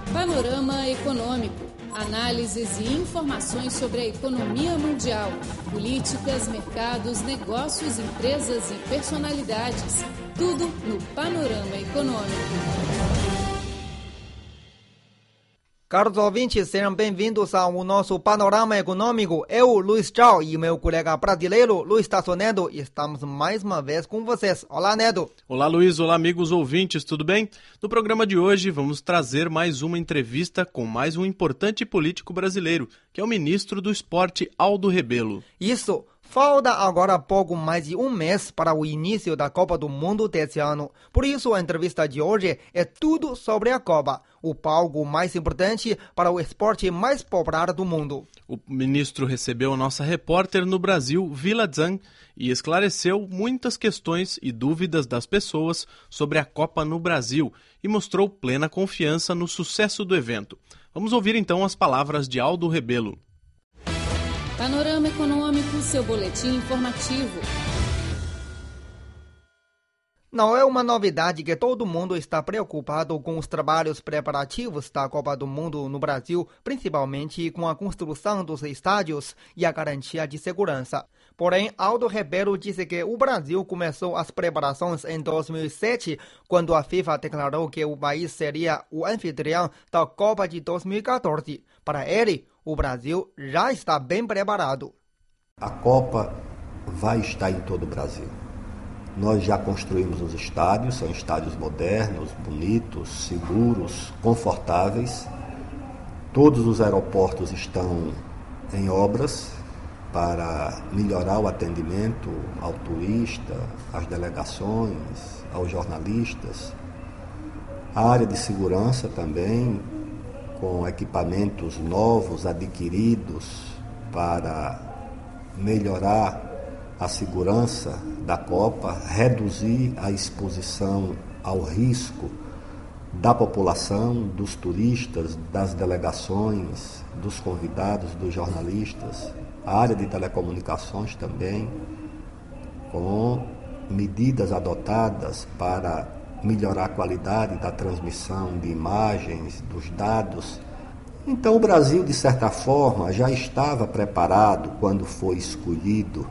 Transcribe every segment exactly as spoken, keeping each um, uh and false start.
Panorama Econômico. Análises e informações sobre a economia mundial, políticas, mercados, negócios, empresas e personalidades. Tudo no Panorama Econômico. Caros ouvintes, sejam bem-vindos ao nosso Panorama Econômico. Eu, Luiz Zhao, e meu colega brasileiro, Luiz Tasso Neto, estamos mais uma vez com vocês. Olá, Neto. Olá, Luiz. Olá, amigos ouvintes, tudo bem? No programa de hoje, vamos trazer mais uma entrevista com mais um importante político brasileiro, que é o ministro do Esporte, Aldo Rebelo. Isso. Falta agora pouco mais de um mês para o início da Copa do Mundo desse ano. Por isso, a entrevista de hoje é tudo sobre a Copa, o palco mais importante para o esporte mais popular do mundo. O ministro recebeu a nossa repórter no Brasil, Vila Zhang, e esclareceu muitas questões e dúvidas das pessoas sobre a Copa no Brasil e mostrou plena confiança no sucesso do evento. Vamos ouvir então as palavras de Aldo Rebelo. Panorama Econômico, seu boletim informativo. Não é uma novidade que todo mundo está preocupado com os trabalhos preparativos da Copa do Mundo no Brasil, principalmente com a construção dos estádios e a garantia de segurança. Porém, Aldo Rebelo disse que o Brasil começou as preparações em dois mil e sete, quando a FIFA declarou que o país seria o anfitrião da Copa de dois mil e quatorze. Para ele, o Brasil já está bem preparado. A Copa vai estar em todo o Brasil. Nós já construímos os estádios, são estádios modernos, bonitos, seguros, confortáveis. Todos os aeroportos estão em obras para melhorar o atendimento ao turista, às delegações, aos jornalistas. A área de segurança também, com equipamentos novos adquiridos para melhorar a segurança da Copa, reduzir a exposição ao risco da população, dos turistas, das delegações, dos convidados, dos jornalistas. A área de telecomunicações também, com medidas adotadas para melhorar a qualidade da transmissão de imagens, dos dados. Então o Brasil, de certa forma, já estava preparado quando foi escolhido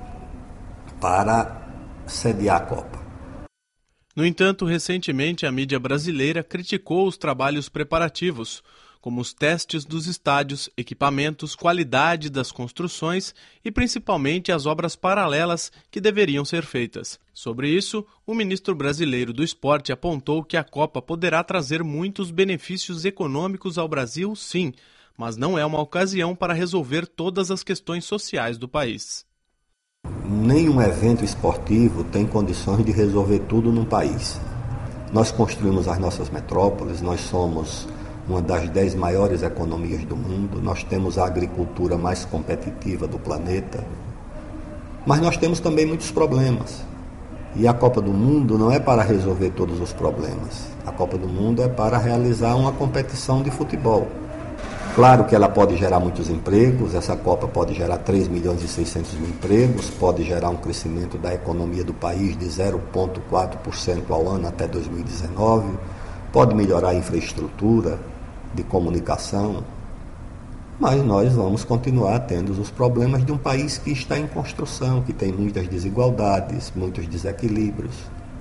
para sediar a Copa. No entanto, recentemente a mídia brasileira criticou os trabalhos preparativos, como os testes dos estádios, equipamentos, qualidade das construções e principalmente as obras paralelas que deveriam ser feitas. Sobre isso, o ministro brasileiro do Esporte apontou que a Copa poderá trazer muitos benefícios econômicos ao Brasil, sim, mas não é uma ocasião para resolver todas as questões sociais do país. Nenhum evento esportivo tem condições de resolver tudo num país. Nós construímos as nossas metrópoles, nós somos uma das dez maiores economias do mundo, nós temos a agricultura mais competitiva do planeta, mas nós temos também muitos problemas. E a Copa do Mundo não é para resolver todos os problemas. A Copa do Mundo é para realizar uma competição de futebol. Claro que ela pode gerar muitos empregos, essa Copa pode gerar três milhões e seiscentos mil empregos, pode gerar um crescimento da economia do país de zero vírgula quatro por cento ao ano até dois mil e dezenove, pode melhorar a infraestrutura de comunicação, mas nós vamos continuar tendo os problemas de um país que está em construção, que tem muitas desigualdades, muitos desequilíbrios.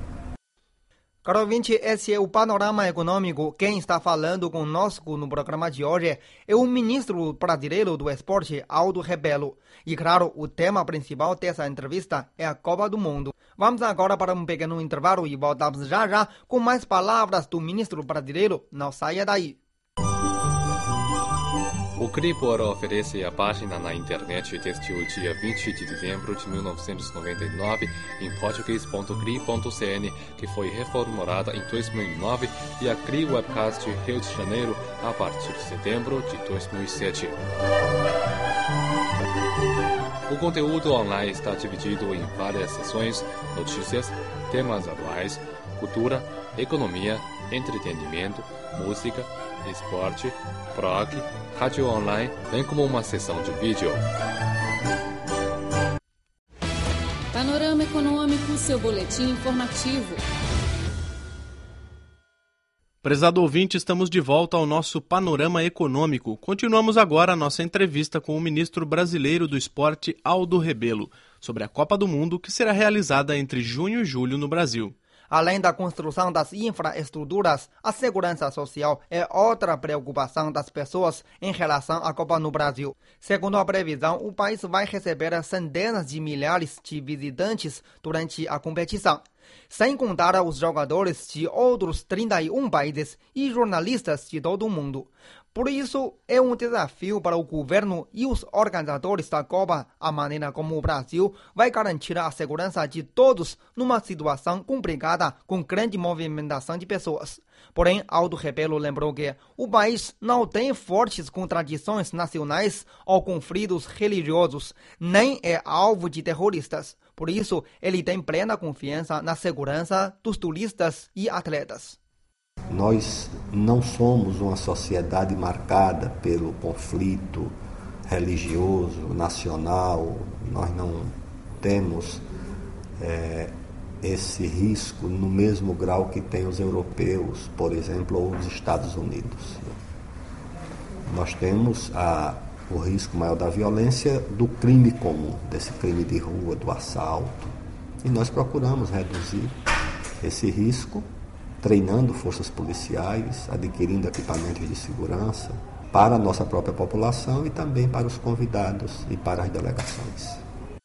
Caro ouvinte, esse é o Panorama Econômico. Quem está falando conosco no programa de hoje é o ministro brasileiro do Esporte, Aldo Rebelo. E claro, o tema principal dessa entrevista é a Copa do Mundo. Vamos agora para um pequeno intervalo e voltamos já já com mais palavras do ministro brasileiro. Não saia daí. O Cribor oferece a página na internet desde o dia vinte de dezembro de mil novecentos e noventa e nove em português ponto cri ponto cn, que foi reformulada em dois mil e nove, e a Cri Webcast Rio de Janeiro a partir de setembro de dois mil e sete. O conteúdo online está dividido em várias seções: notícias, temas atuais, cultura, economia, entretenimento, música, esporte, blog, rádio online, bem como uma seção de vídeo. Panorama Econômico, seu boletim informativo. Prezado ouvinte, estamos de volta ao nosso Panorama Econômico. Continuamos agora a nossa entrevista com o ministro brasileiro do Esporte, Aldo Rebelo, sobre a Copa do Mundo que será realizada entre junho e julho no Brasil. Além da construção das infraestruturas, a segurança social é outra preocupação das pessoas em relação à Copa no Brasil. Segundo a previsão, o país vai receber centenas de milhares de visitantes durante a competição, sem contar os jogadores de outros trinta e um países e jornalistas de todo o mundo. Por isso, é um desafio para o governo e os organizadores da Copa a maneira como o Brasil vai garantir a segurança de todos numa situação complicada com grande movimentação de pessoas. Porém, Aldo Rebelo lembrou que o país não tem fortes contradições nacionais ou conflitos religiosos, nem é alvo de terroristas. Por isso, ele tem plena confiança na segurança dos turistas e atletas. Nós não somos uma sociedade marcada pelo conflito religioso, nacional. Nós não temos é, esse risco no mesmo grau que tem os europeus, por exemplo, ou os Estados Unidos. Nós temos a, o risco maior da violência do crime comum, desse crime de rua, do assalto. E nós procuramos reduzir esse risco treinando forças policiais, adquirindo equipamentos de segurança para a nossa própria população e também para os convidados e para as delegações.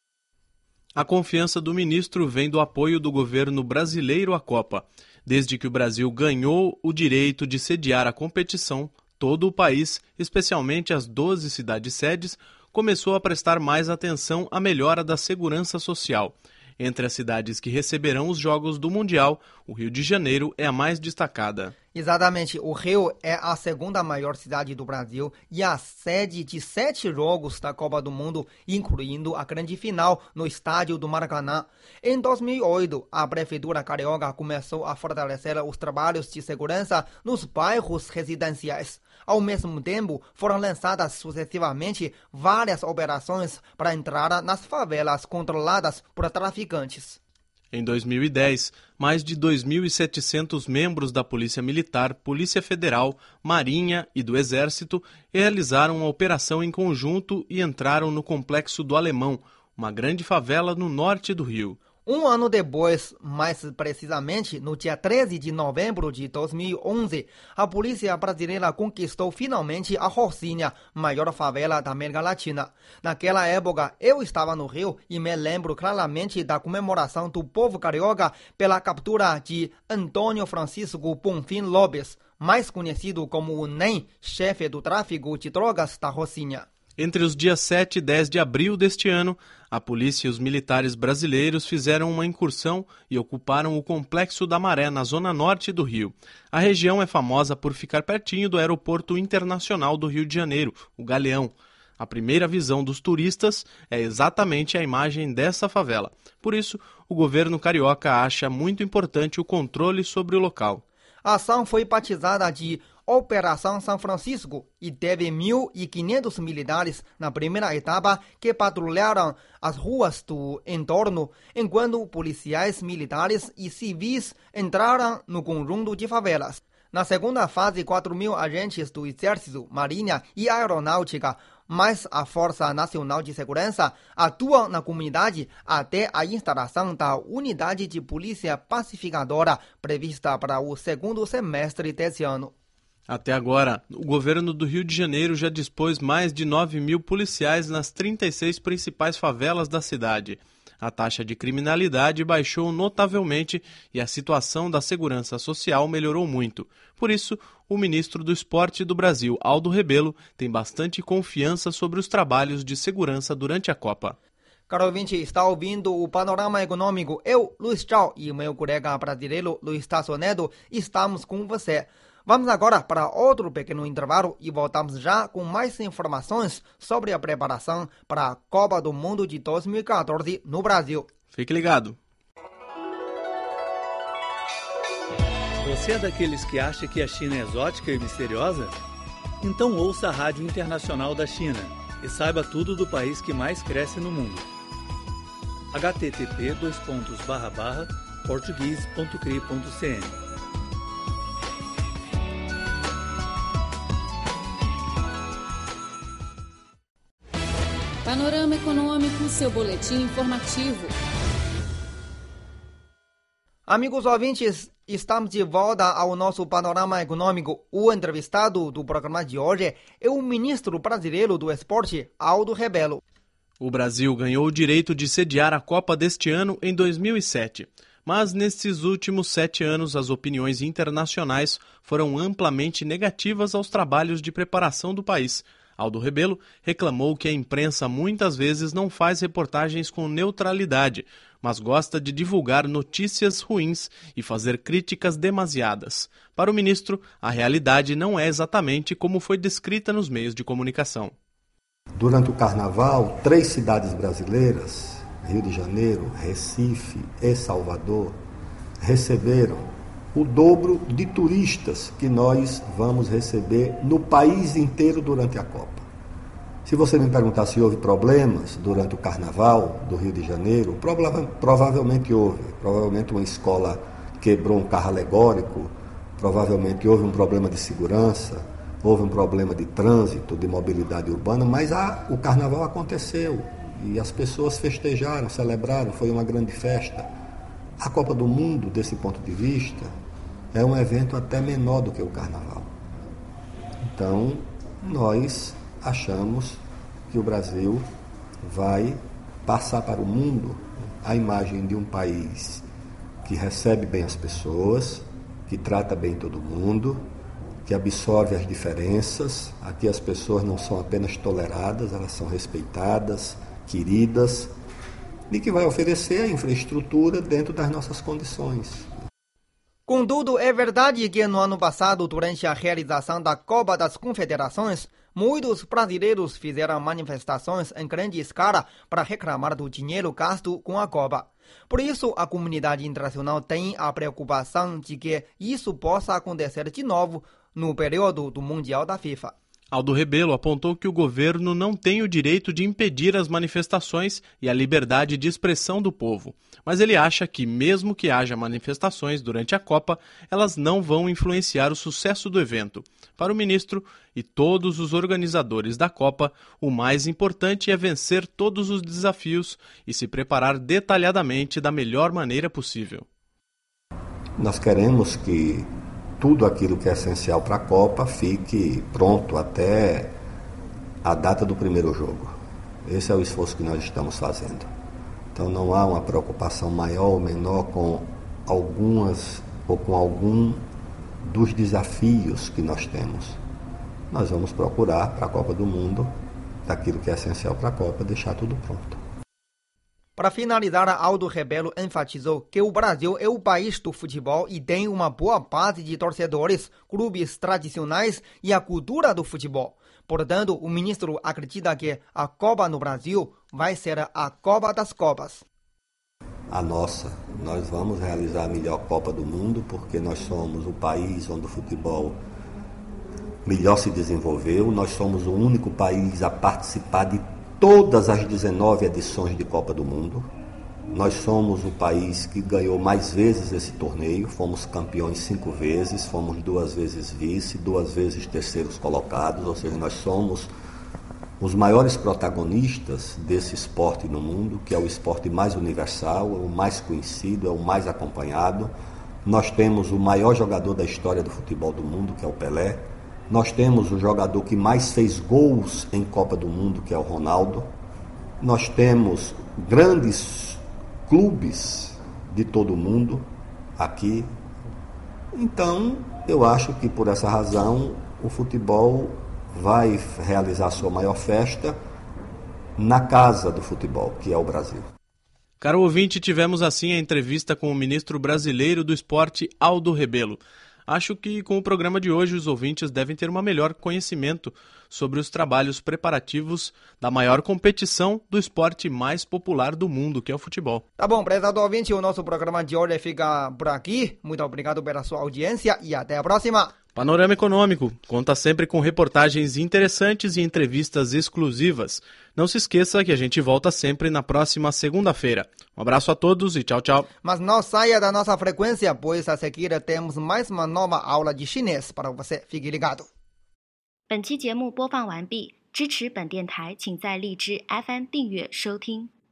A confiança do ministro vem do apoio do governo brasileiro à Copa. Desde que o Brasil ganhou o direito de sediar a competição, todo o país, especialmente as doze cidades-sedes, começou a prestar mais atenção à melhora da segurança social. Entre as cidades que receberão os Jogos do Mundial, o Rio de Janeiro é a mais destacada. Exatamente, o Rio é a segunda maior cidade do Brasil e a sede de sete jogos da Copa do Mundo, incluindo a grande final no estádio do Maracanã. Em dois mil e oito, a Prefeitura Carioca começou a fortalecer os trabalhos de segurança nos bairros residenciais. Ao mesmo tempo, foram lançadas sucessivamente várias operações para entrar nas favelas controladas por traficantes. Em dois mil e dez, mais de dois mil e setecentos membros da Polícia Militar, Polícia Federal, Marinha e do Exército realizaram uma operação em conjunto e entraram no Complexo do Alemão, uma grande favela no norte do Rio. Um ano depois, mais precisamente no dia treze de novembro de dois mil e onze, a polícia brasileira conquistou finalmente a Rocinha, maior favela da América Latina. Naquela época, eu estava no Rio e me lembro claramente da comemoração do povo carioca pela captura de Antônio Francisco Bonfim Lopes, mais conhecido como o NEM, chefe do tráfico de drogas da Rocinha. Entre os dias sete e dez de abril deste ano, a polícia e os militares brasileiros fizeram uma incursão e ocuparam o Complexo da Maré, na zona norte do Rio. A região é famosa por ficar pertinho do Aeroporto Internacional do Rio de Janeiro, o Galeão. A primeira visão dos turistas é exatamente a imagem dessa favela. Por isso, o governo carioca acha muito importante o controle sobre o local. A ação foi batizada de Operação São Francisco e teve mil e quinhentos militares na primeira etapa que patrulharam as ruas do entorno, enquanto policiais militares e civis entraram no conjunto de favelas. Na segunda fase, quatro mil agentes do Exército, Marinha e Aeronáutica, mais a Força Nacional de Segurança, atuam na comunidade até a instalação da Unidade de Polícia Pacificadora, prevista para o segundo semestre desse ano. Até agora, o governo do Rio de Janeiro já dispôs mais de nove mil policiais nas trinta e seis principais favelas da cidade. A taxa de criminalidade baixou notavelmente e a situação da segurança social melhorou muito. Por isso, o ministro do Esporte do Brasil, Aldo Rebelo, tem bastante confiança sobre os trabalhos de segurança durante a Copa. Caro ouvinte, está ouvindo o Panorama Econômico. Eu, Luiz Chao, e meu colega brasileiro, Luiz Tasso Neto, estamos com você. Vamos agora para outro pequeno intervalo e voltamos já com mais informações sobre a preparação para a Copa do Mundo de dois mil e quatorze no Brasil. Fique ligado. Você é daqueles que acha que a China é exótica e misteriosa? Então ouça a Rádio Internacional da China e saiba tudo do país que mais cresce no mundo. h t t p dois pontos barra barra português ponto cri ponto c n Panorama Econômico, seu boletim informativo. Amigos ouvintes, estamos de volta ao nosso Panorama Econômico. O entrevistado do programa de hoje é o ministro brasileiro do Esporte, Aldo Rebelo. O Brasil ganhou o direito de sediar a Copa deste ano em dois mil e sete. Mas nesses últimos sete anos as opiniões internacionais foram amplamente negativas aos trabalhos de preparação do país. Aldo Rebelo reclamou que a imprensa muitas vezes não faz reportagens com neutralidade, mas gosta de divulgar notícias ruins e fazer críticas demasiadas. Para o ministro, a realidade não é exatamente como foi descrita nos meios de comunicação. Durante o Carnaval, três cidades brasileiras, Rio de Janeiro, Recife e Salvador, receberam o dobro de turistas que nós vamos receber no país inteiro durante a Copa. Se você me perguntar se houve problemas durante o Carnaval do Rio de Janeiro, prova- provavelmente houve. Provavelmente uma escola quebrou um carro alegórico, provavelmente houve um problema de segurança, houve um problema de trânsito, de mobilidade urbana, mas a, o Carnaval aconteceu e as pessoas festejaram, celebraram, foi uma grande festa. A Copa do Mundo, desse ponto de vista, é um evento até menor do que o Carnaval. Então, nós achamos que o Brasil vai passar para o mundo a imagem de um país que recebe bem as pessoas, que trata bem todo mundo, que absorve as diferenças. Aqui as pessoas não são apenas toleradas, elas são respeitadas, queridas, e que vai oferecer a infraestrutura dentro das nossas condições. Contudo, é verdade que no ano passado, durante a realização da Copa das Confederações, muitos brasileiros fizeram manifestações em grande escala para reclamar do dinheiro gasto com a Copa. Por isso, a comunidade internacional tem a preocupação de que isso possa acontecer de novo no período do Mundial da FIFA. Aldo Rebelo apontou que o governo não tem o direito de impedir as manifestações e a liberdade de expressão do povo. Mas ele acha que, mesmo que haja manifestações durante a Copa, elas não vão influenciar o sucesso do evento. Para o ministro e todos os organizadores da Copa, o mais importante é vencer todos os desafios e se preparar detalhadamente da melhor maneira possível. Nós queremos que tudo aquilo que é essencial para a Copa fique pronto até a data do primeiro jogo. Esse é o esforço que nós estamos fazendo. Então não há uma preocupação maior ou menor com algumas ou com algum dos desafios que nós temos. Nós vamos procurar para a Copa do Mundo, daquilo que é essencial para a Copa, deixar tudo pronto. Para finalizar, Aldo Rebelo enfatizou que o Brasil é o país do futebol e tem uma boa base de torcedores, clubes tradicionais e a cultura do futebol. Portanto, o ministro acredita que a Copa no Brasil vai ser a Copa das Copas. A nossa, nós vamos realizar a melhor Copa do Mundo porque nós somos o país onde o futebol melhor se desenvolveu, nós somos o único país a participar de todas as dezenove edições de Copa do Mundo. Nós somos o país que ganhou mais vezes esse torneio, fomos campeões cinco vezes, fomos duas vezes vice, duas vezes terceiros colocados, ou seja, nós somos os maiores protagonistas desse esporte no mundo, que é o esporte mais universal, é o mais conhecido, é o mais acompanhado. Nós temos o maior jogador da história do futebol do mundo, que é o Pelé. Nós temos o jogador que mais fez gols em Copa do Mundo, que é o Ronaldo. Nós temos grandes clubes de todo o mundo aqui. Então, eu acho que por essa razão o futebol vai realizar sua maior festa na casa do futebol, que é o Brasil. Caro ouvinte, tivemos assim a entrevista com o ministro brasileiro do esporte, Aldo Rebelo. Acho que com o programa de hoje os ouvintes devem ter um melhor conhecimento sobre os trabalhos preparativos da maior competição do esporte mais popular do mundo, que é o futebol. Tá bom, prezado ouvinte, o nosso programa de hoje fica por aqui. Muito obrigado pela sua audiência e até a próxima. Panorama Econômico conta sempre com reportagens interessantes e entrevistas exclusivas. Não se esqueça que a gente volta sempre na próxima segunda-feira. Um abraço a todos e tchau, tchau. Mas não saia da nossa frequência, pois a seguir temos mais uma nova aula de chinês para você. Fique ligado. 本期节目播放完毕， 支持本电台，请在荔枝 F M 订阅收听。